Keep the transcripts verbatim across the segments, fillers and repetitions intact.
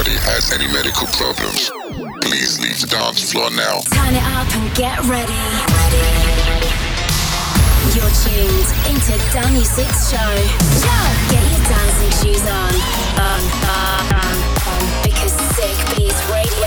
anybody has any medical problems, please leave the dance floor now. Turn it up and get ready. ready. You're tuned into Dan Music's show. Get your dancing shoes on. On, on, on, on. Because Sick Beats Radio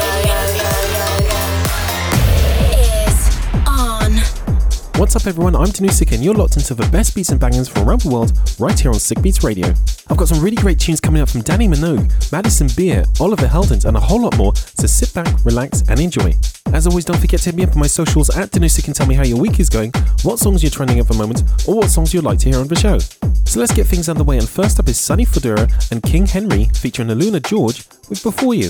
is on. What's up everyone, I'm Danusik and you're locked into the best beats and bangers from around the world right here on Sick Beats Radio. I've got some really great tunes coming up from Danny Minogue, Madison Beer, Oliver Heldens and a whole lot more, so sit back, relax and enjoy. As always, don't forget to hit me up on my socials at Danusik and tell me how your week is going, what songs you're trending at the moment, or what songs you'd like to hear on the show. So let's get things underway, and first up is Sonny Fodera and King Henry featuring Aluna George with Before You.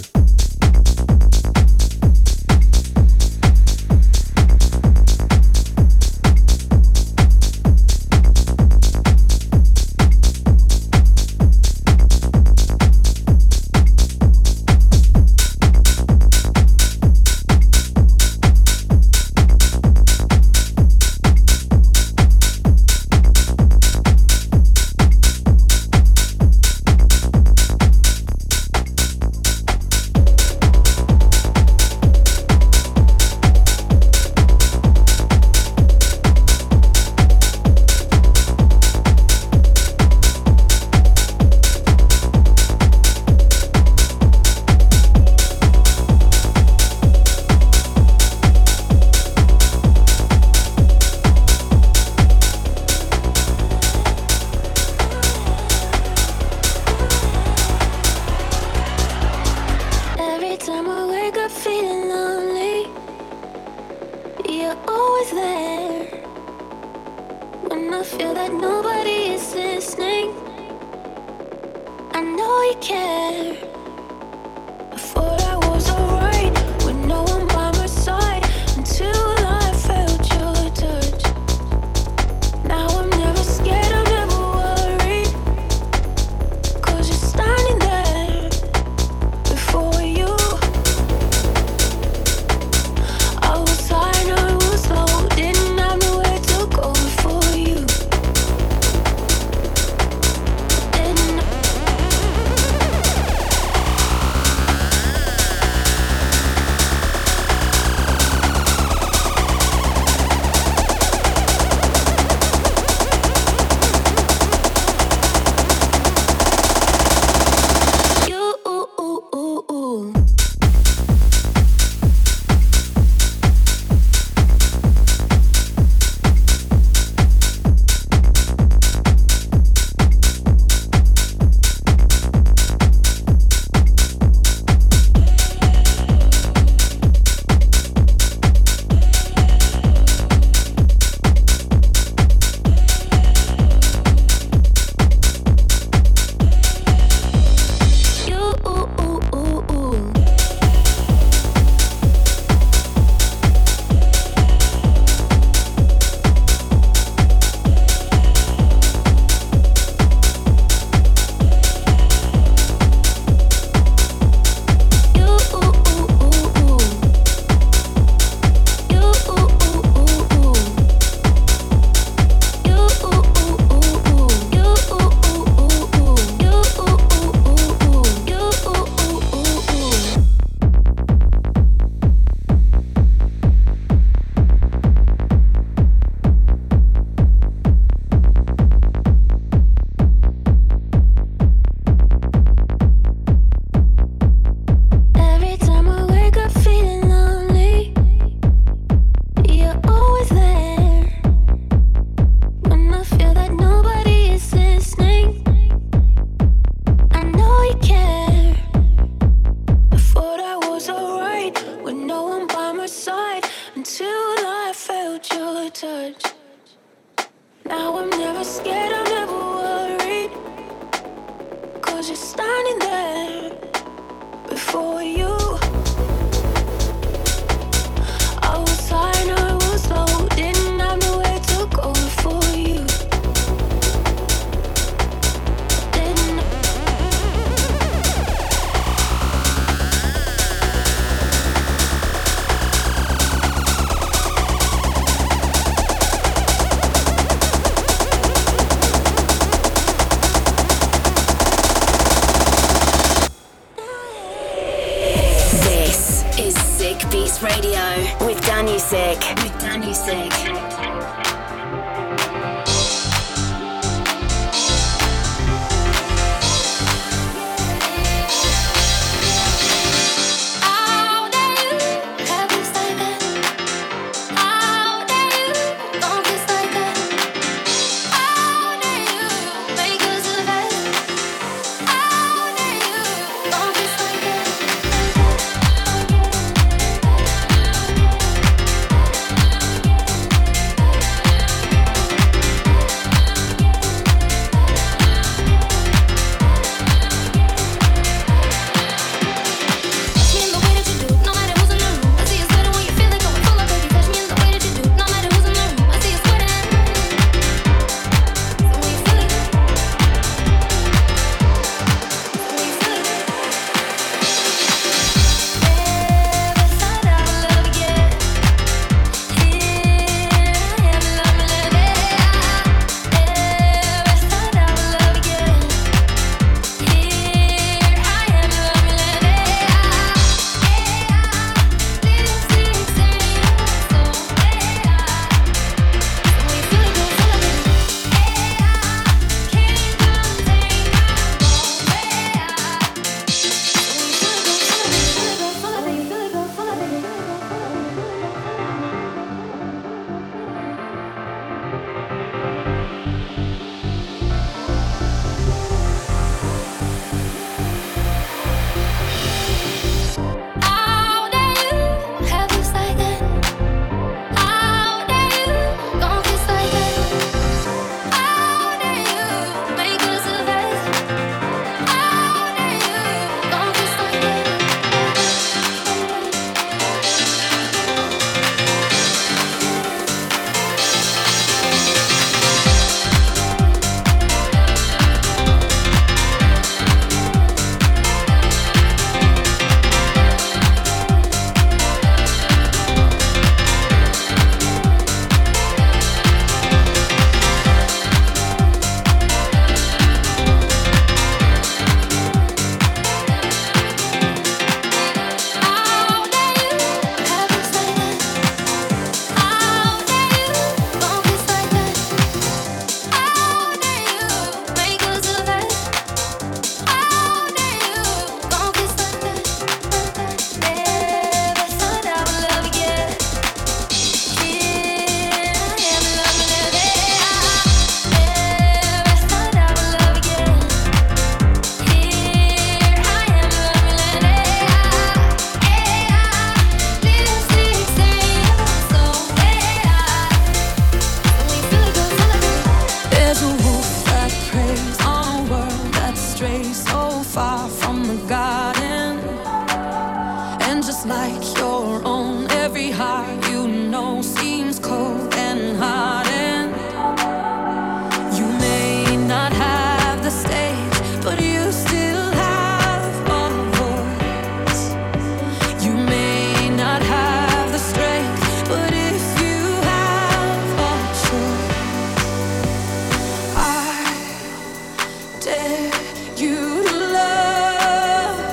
Beats Radio with Danusik. With Danusik. Dare you to love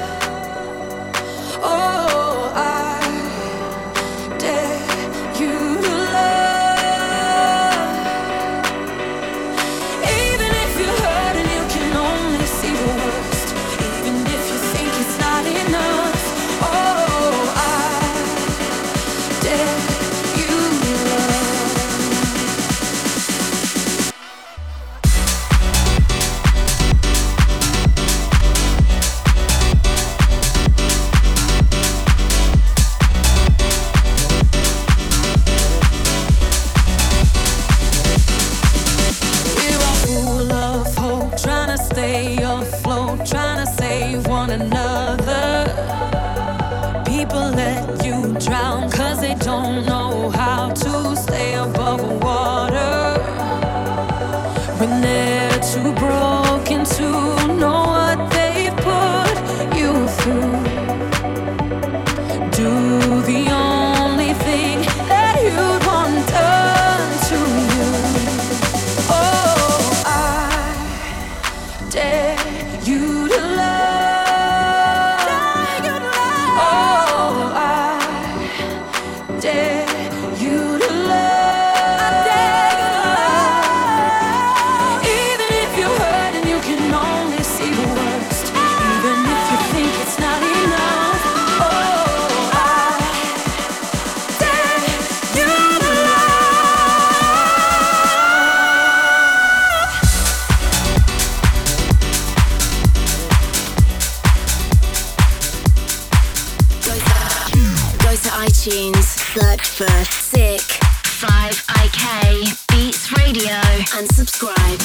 iTunes. Look for Sick five I K Beats Radio and subscribe.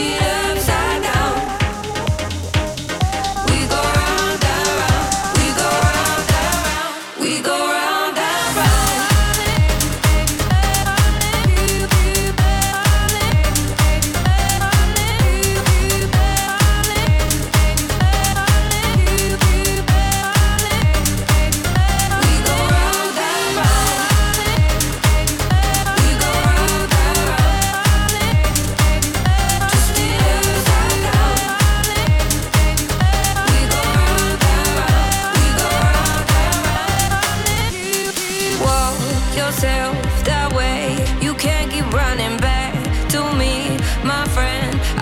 We go round and round, we go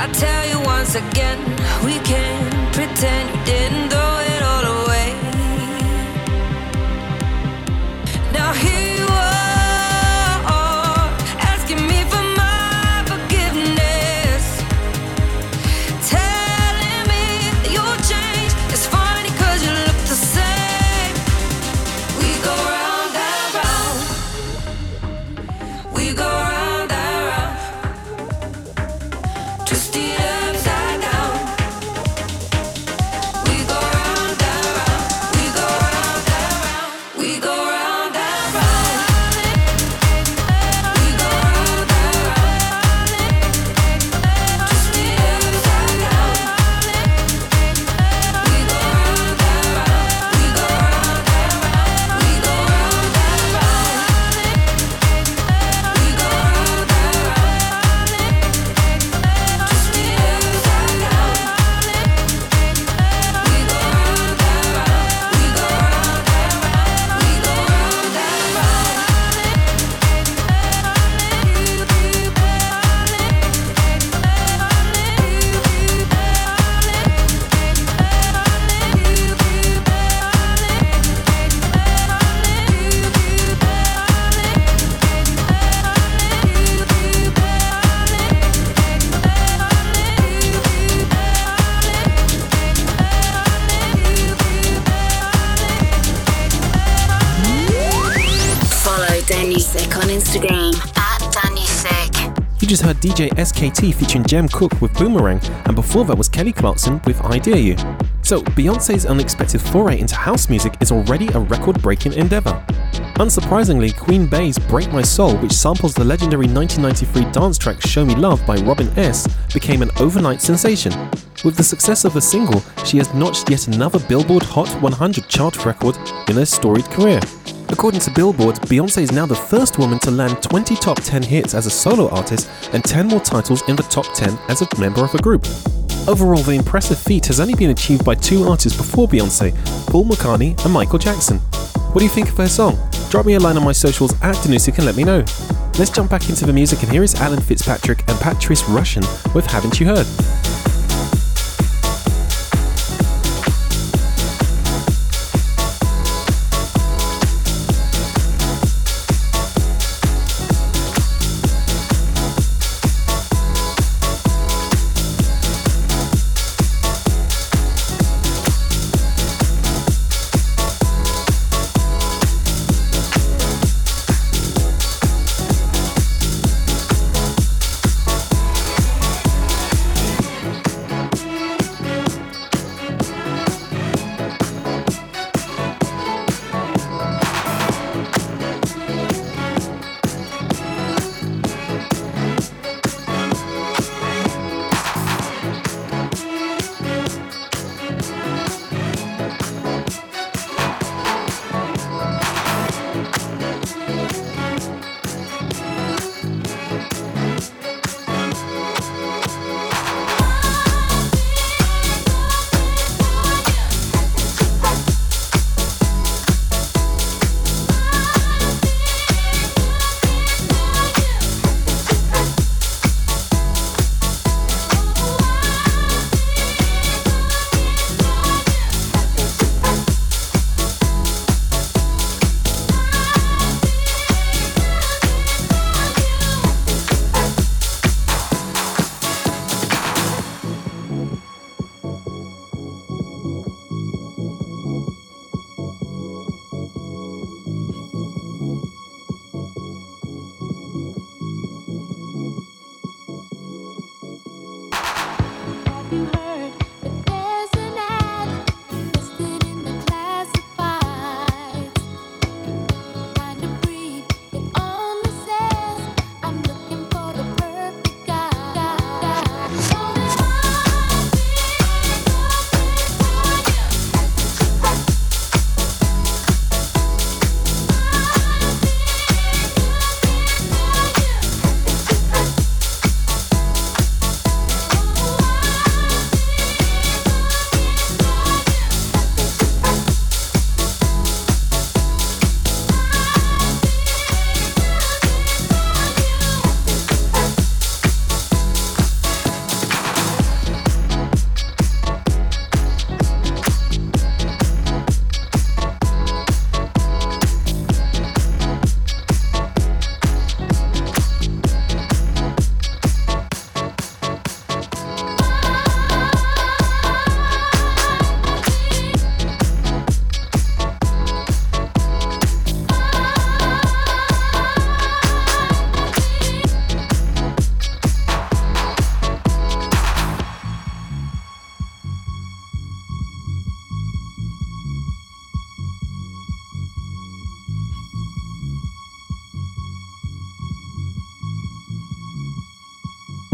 I tell you once again, we can't pretend you didn't throw it all away. Now here you are, asking me for my forgiveness, telling me you'll change. It's funny 'cause you look the same. We go round and round, we go round and round, twisted upside down. We go round and round, we go round and round, we go round and round, we go round and round, twisted upside down. We go round and round, we go round and round, we go round and round, we go round and round, twisted upside down. We go round and round, we go round and round, we go round and Follow Danusik on Instagram at Danusik. You just heard D J S K T featuring Jem Cook with Boomerang, and before that was Kelly Clarkson with I Dare You. So, Beyoncé's unexpected foray into house music is already a record-breaking endeavour. Unsurprisingly, Queen Bey's Break My Soul, which samples the legendary nineteen ninety-three dance track Show Me Love by Robin S., became an overnight sensation. With the success of the single, she has notched yet another Billboard Hot one hundred chart record in her storied career. According to Billboard, Beyoncé is now the first woman to land twenty top ten hits as a solo artist and ten more titles in the top ten as a member of a group. Overall, the impressive feat has only been achieved by two artists before Beyoncé, Paul McCartney and Michael Jackson. What do you think of her song? Drop me a line on my socials at Danusik and let me know. Let's jump back into the music, and here is Alan Fitzpatrick and Patrice Rushen with Haven't You Heard?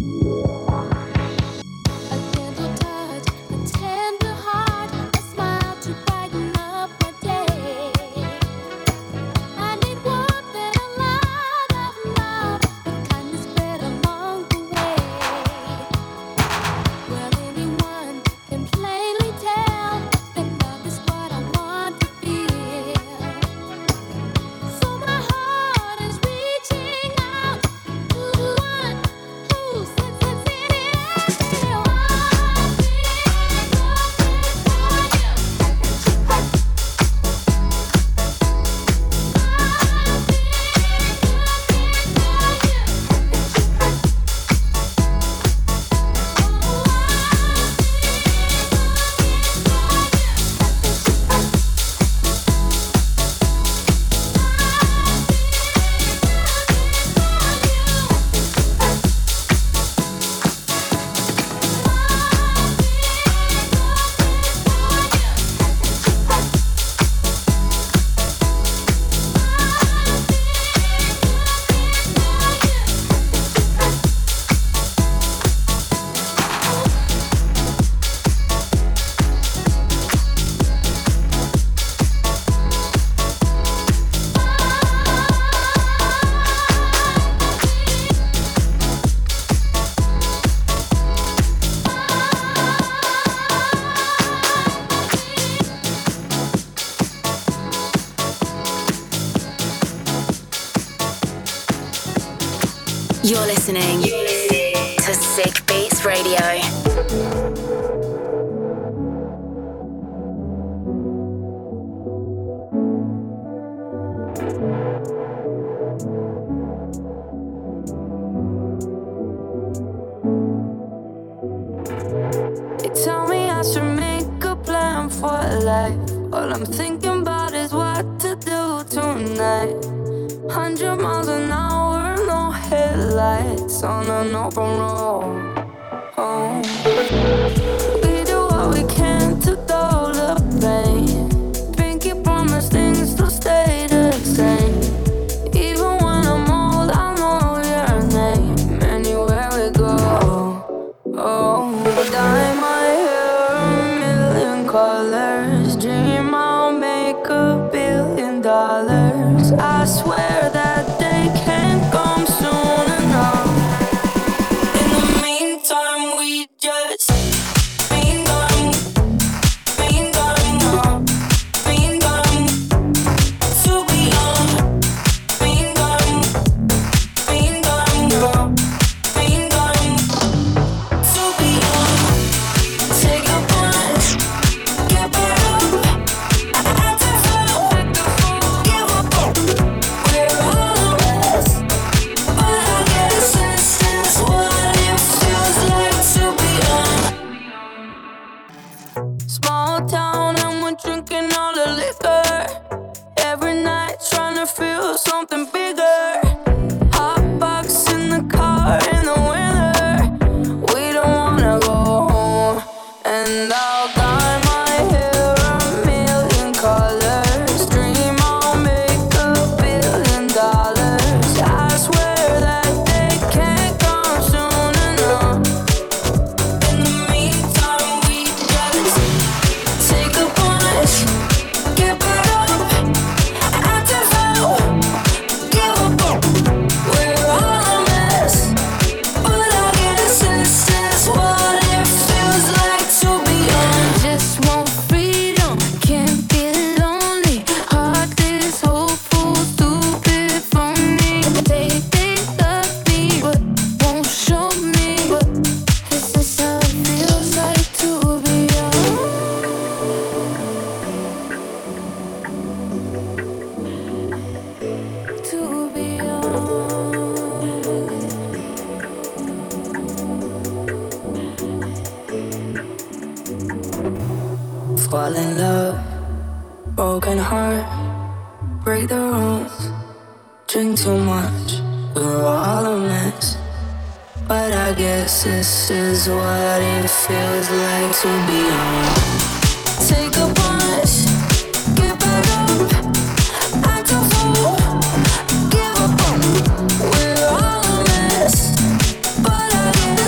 You're listening to Sick Beats Radio. They tell me I should make a plan for life. All I'm thinking about is what to do tonight. Hundred miles an hour, no headlights on an open road. Oh. We do what we can to dull the pain. Pinky promise things to stay the same. Even when I'm old, I know your name. Anywhere we go, oh. Dye my hair a million colors. Dream I'll make a billion dollars. I swear that day can't come soon enough. In the meantime, we just mean going, mean going up, mean going to be young, mean going, mean going up, mean going to be young. Take a punch, get back up, act a fool, give up. We're all a mess, but I guess this is what it feels like to be young. Small town and we're drinking all the liquor. Every night trying to feel something bigger. Hot box in the car in the winter. We don't wanna go home. And I'll dye my hair a million colors. Dream I'll make a billion dollars. I swear that day can't come soon enough. In the meantime, we just take a punch, get back up, act a fool, give up. We're all a mess, but I guess this is what it feels like to be young. Just want freedom, can't be lonely. Heart is hopeful, stupid, phony. They think of me, but won't show me. But this is how it feels like to be young. To be young. Fall in love, broken heart, break the rules, drink too much, we're all a mess. But I guess this is what it feels like to be young. Take a punch, get back up, act a fool, give up. We're all a mess, but I guess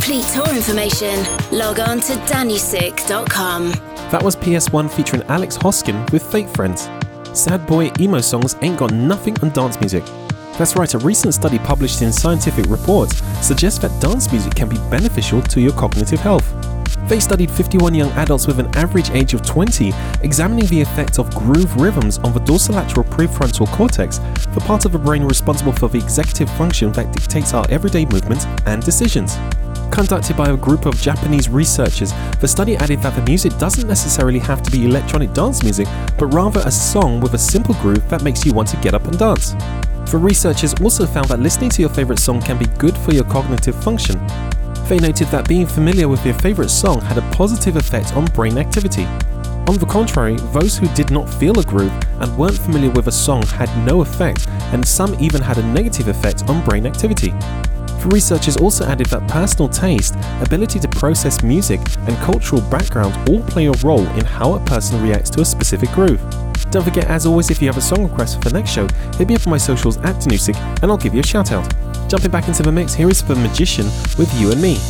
complete tour information, log on to dannysick dot com. That was P S one featuring Alex Hoskin with Fake Friends. Sad boy emo songs ain't got nothing on dance music. That's right, a recent study published in Scientific Reports suggests that dance music can be beneficial to your cognitive health. They studied fifty-one young adults with an average age of twenty, examining the effect of groove rhythms on the dorsolateral prefrontal cortex, the part of the brain responsible for the executive function that dictates our everyday movements and decisions. Conducted by a group of Japanese researchers, the study added that the music doesn't necessarily have to be electronic dance music, but rather a song with a simple groove that makes you want to get up and dance. The researchers also found that listening to your favorite song can be good for your cognitive function. They noted that being familiar with your favorite song had a positive effect on brain activity. On the contrary, those who did not feel a groove and weren't familiar with a song had no effect, and some even had a negative effect on brain activity. The researchers also added that personal taste, ability to process music, and cultural background all play a role in how a person reacts to a specific groove. Don't forget, as always, if you have a song request for the next show, hit me up on my socials at Danusik and I'll give you a shout out. Jumping back into the mix, here is The Magician with You and Me.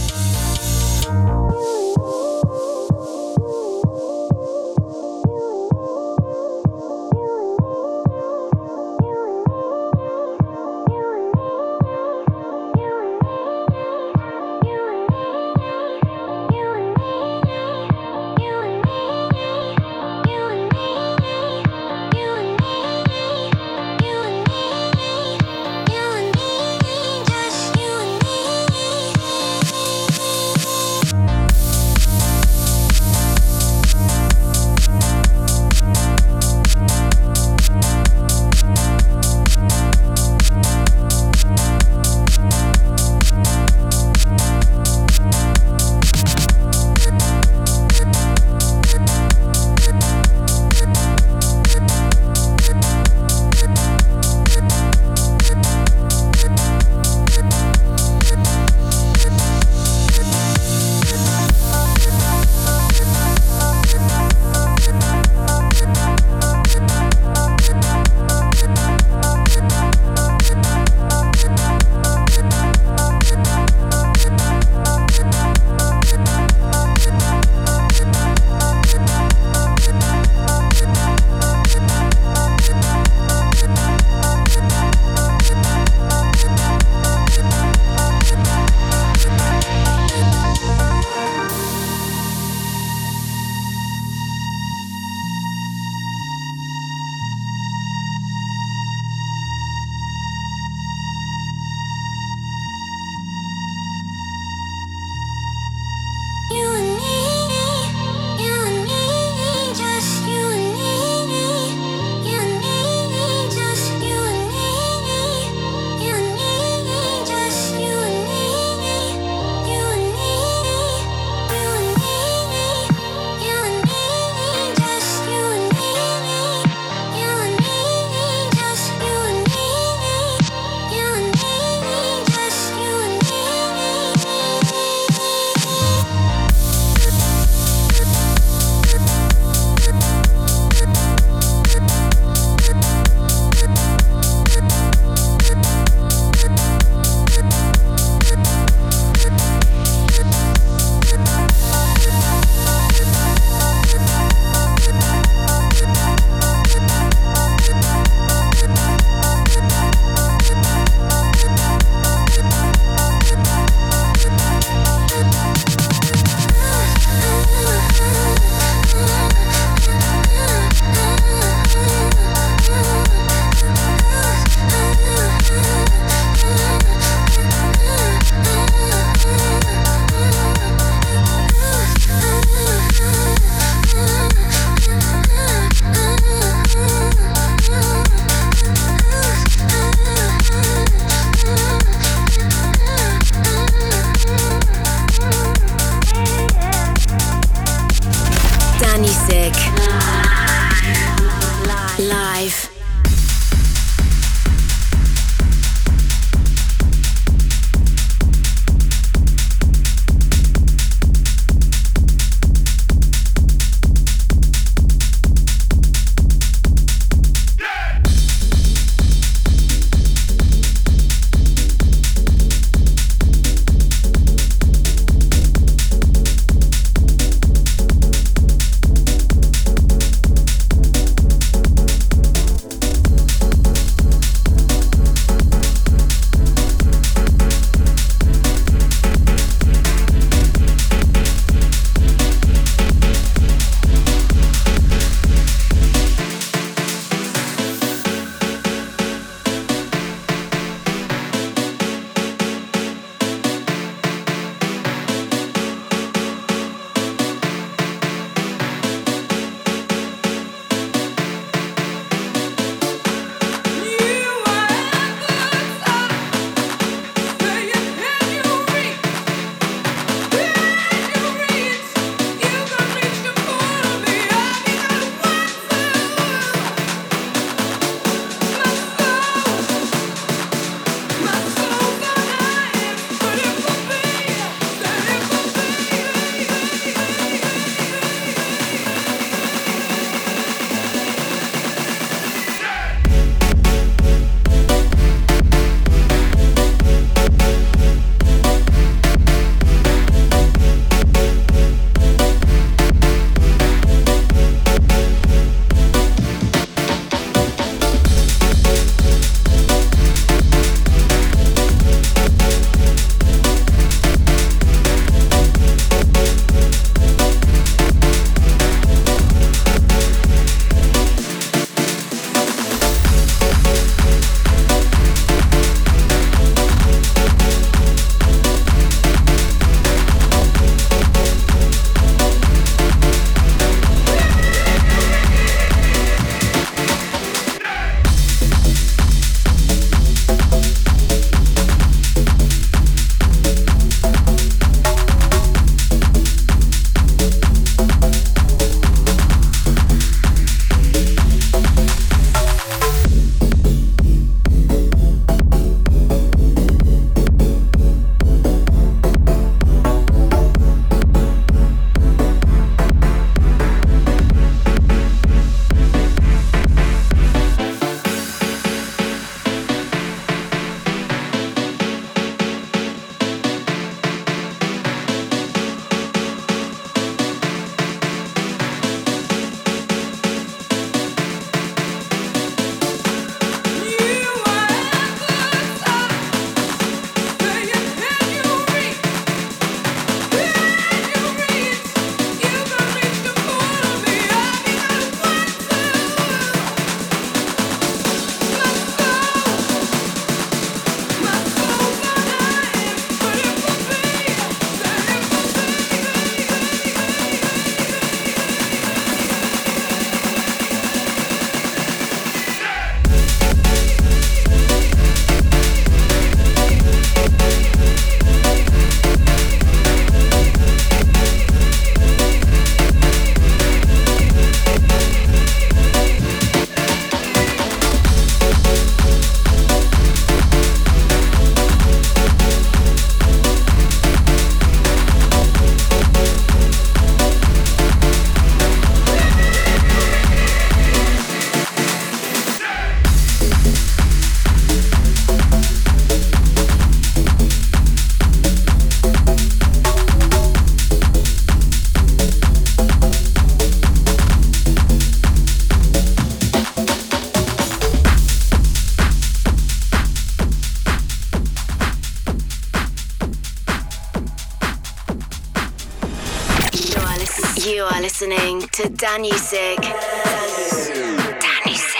to Danusik. Danusik.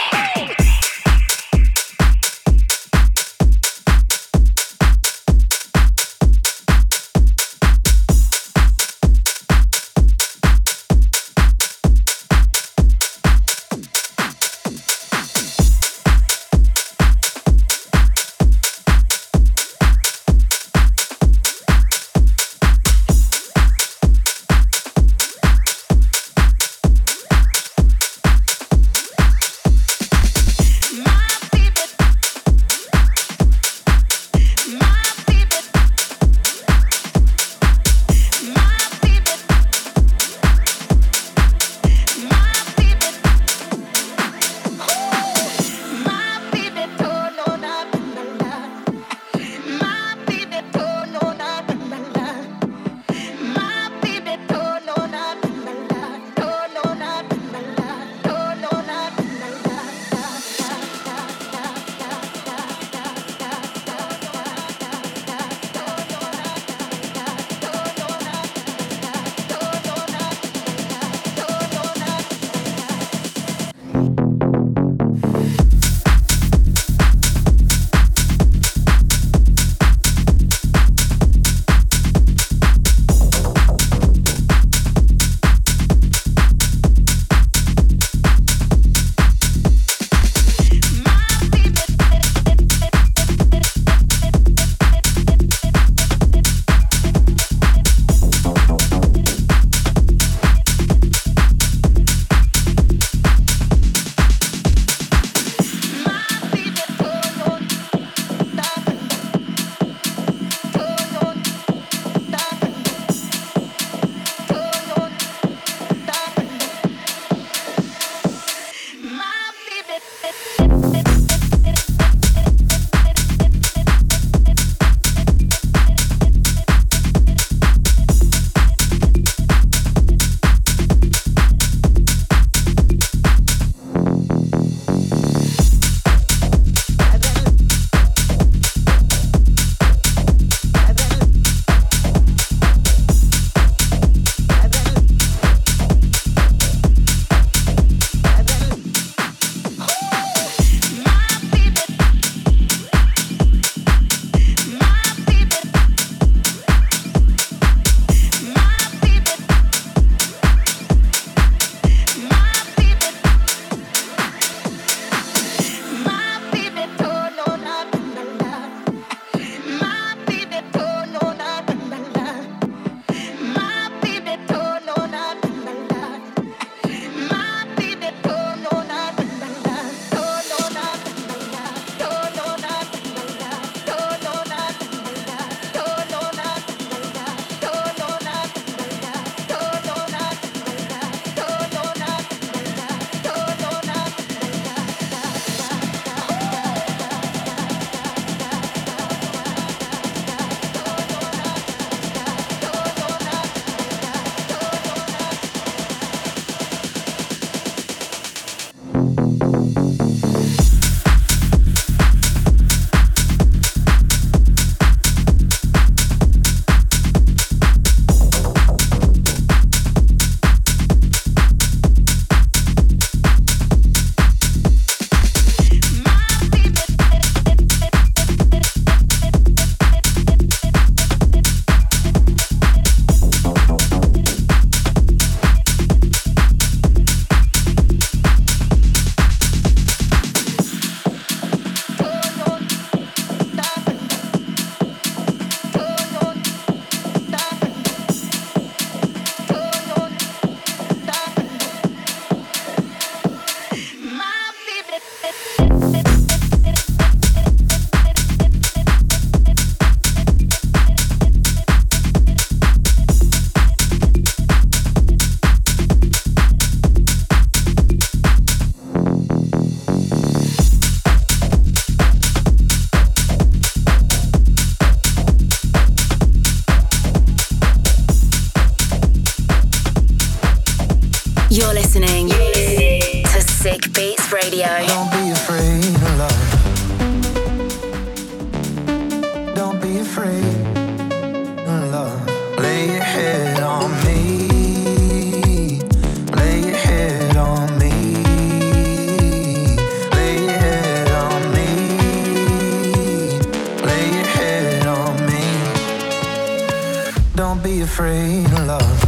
be afraid of love.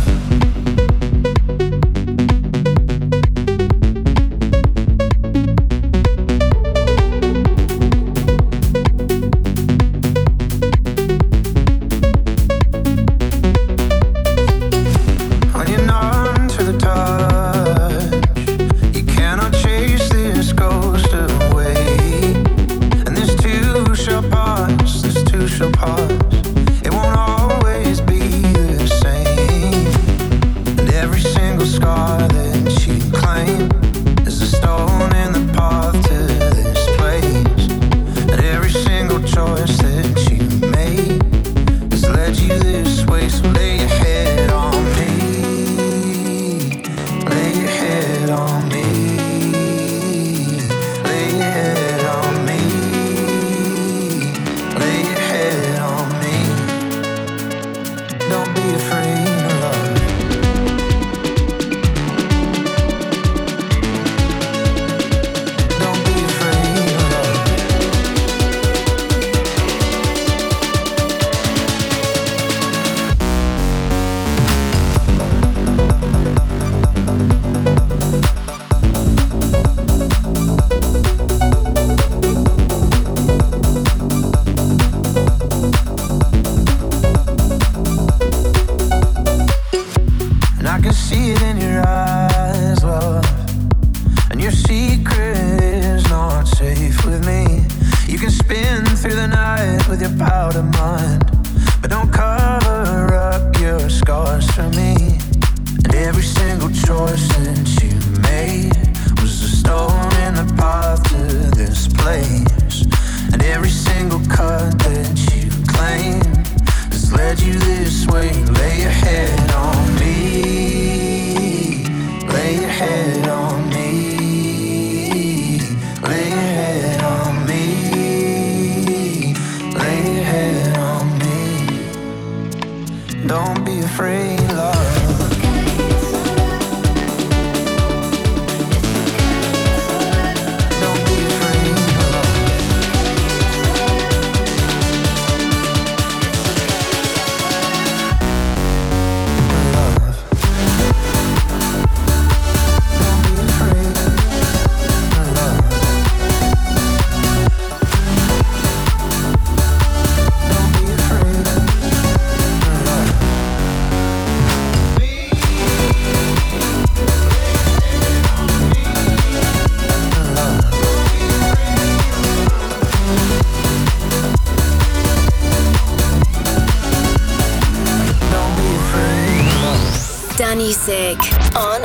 Danusik on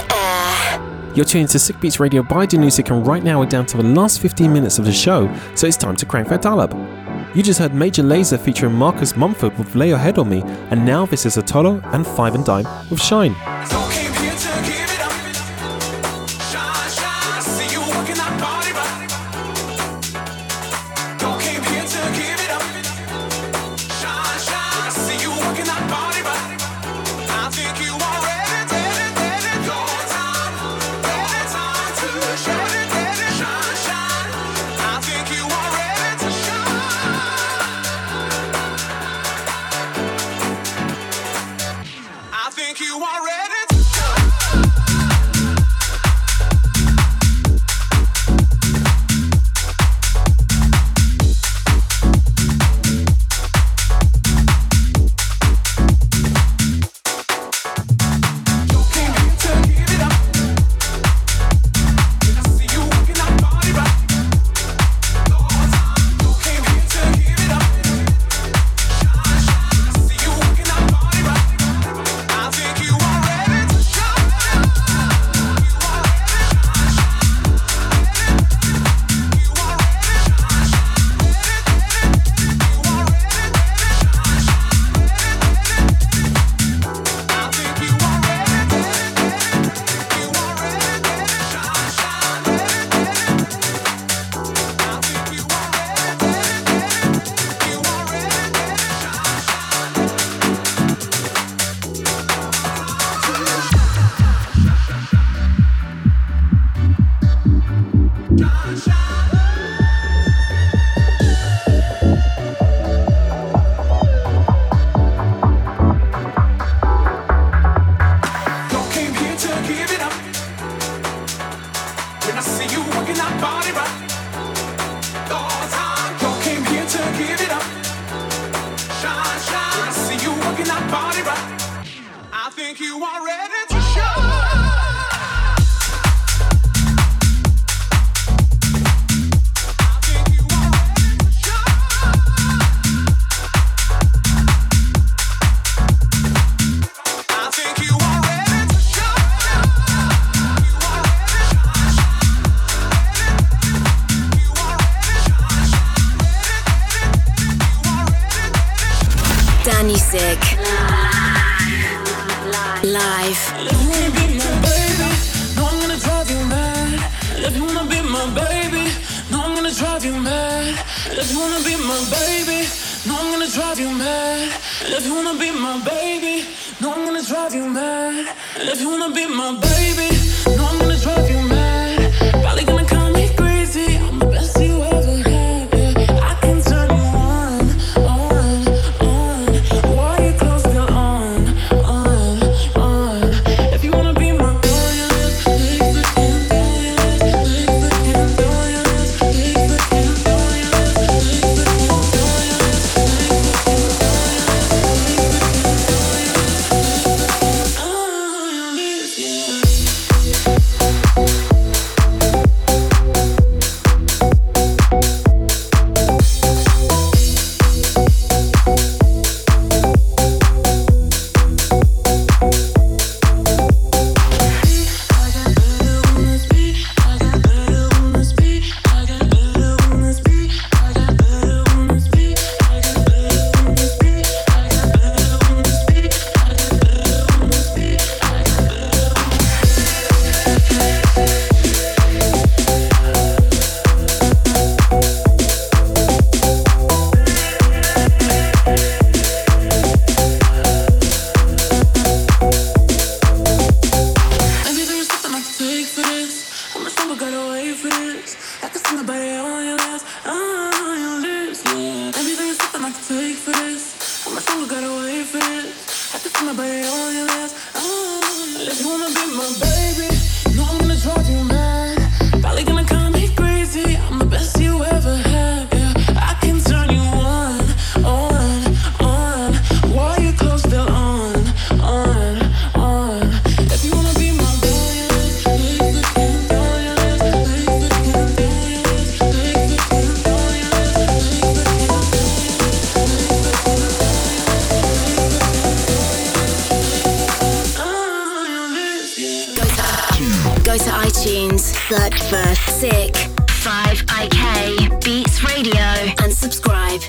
air. You're tuning to Sick Beats Radio by Danusik, and right now we're down to the last fifteen minutes of the show, so it's time to crank that dial up. You just heard Major Lazer featuring Marcus Mumford with Lay Your Head On Me, and now this is Atolo and Five and Dime with Shine. You are ready to music. Live. If you wanna be my baby, no, I'm gonna drive you mad. If you wanna be my baby, no, I'm gonna drive you mad. If you wanna be my baby, no, I'm gonna drive you mad. If you wanna be my baby, no, I'm gonna drive you mad. If you wanna be my baby, no, I'm gonna drive you mad. Probably gonna call me crazy. I'm the best you ever had. Yeah. I can turn you on, on, on. While your clothes still on, on, on. If you wanna be my billionaire, take the ten billionaire, take the ten billionaire, take the ten billionaire, take the ten billionaire, take the ten billionaire. Oh, this, yeah. Search for Sick five I K Beats Radio and subscribe.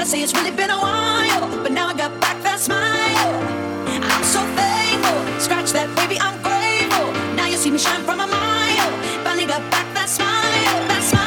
Gotta say it's really been a while, but now I got back that smile. I'm so thankful. Scratch that, baby, I'm grateful. Now you see me shine from a mile. Finally got back that smile, that smile.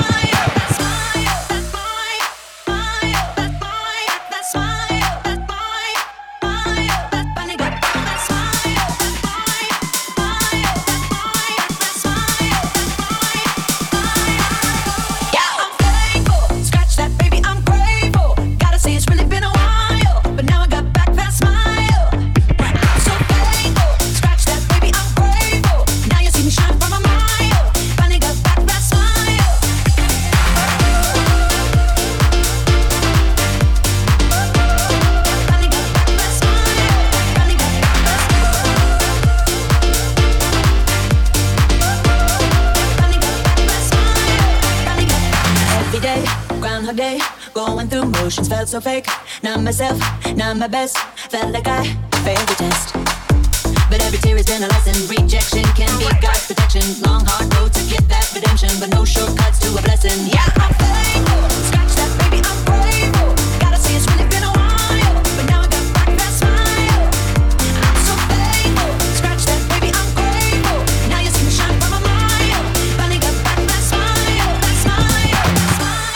Day, going through motions, felt so fake. Not myself, not my best. Felt like I failed the test. But every tear has been a lesson. Rejection can be God's protection. Long hard road to get that redemption, but no shortcuts to a blessing. Yeah, I'm thankful. Scratch that, baby, I'm grateful. Gotta say it's really been a while, but now I got back that smile. I'm so thankful. Scratch that, baby, I'm grateful. Now you see me shine from a mile. Finally got back that smile, that smile, that smile.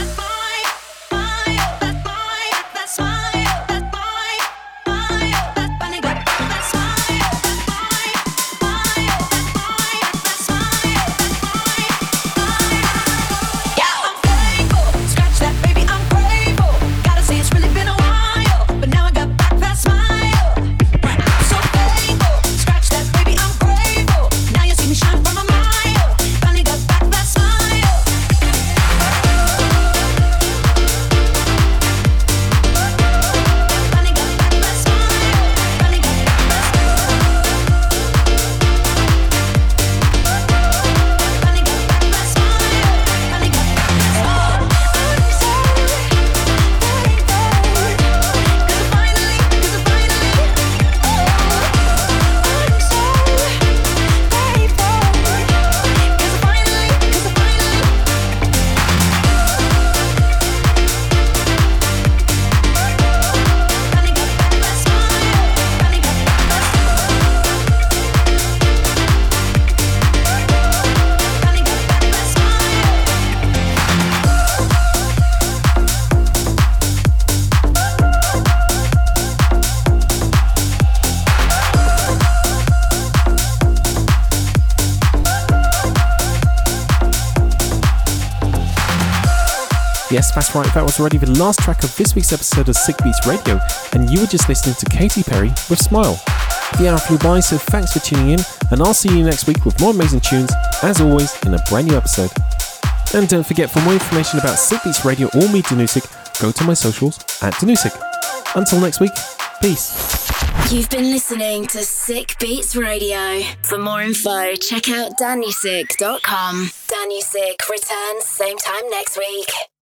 Yes, that's right, that was already the last track of this week's episode of Sick Beats Radio, and you were just listening to Katy Perry with Smile. The hour flew by, so thanks for tuning in, and I'll see you next week with more amazing tunes, as always, in a brand new episode. And don't forget, for more information about Sick Beats Radio or me, Danusik, go to my socials at Danusik. Until next week, peace. You've been listening to Sick Beats Radio. For more info, check out danusik dot com. Danusik returns same time next week.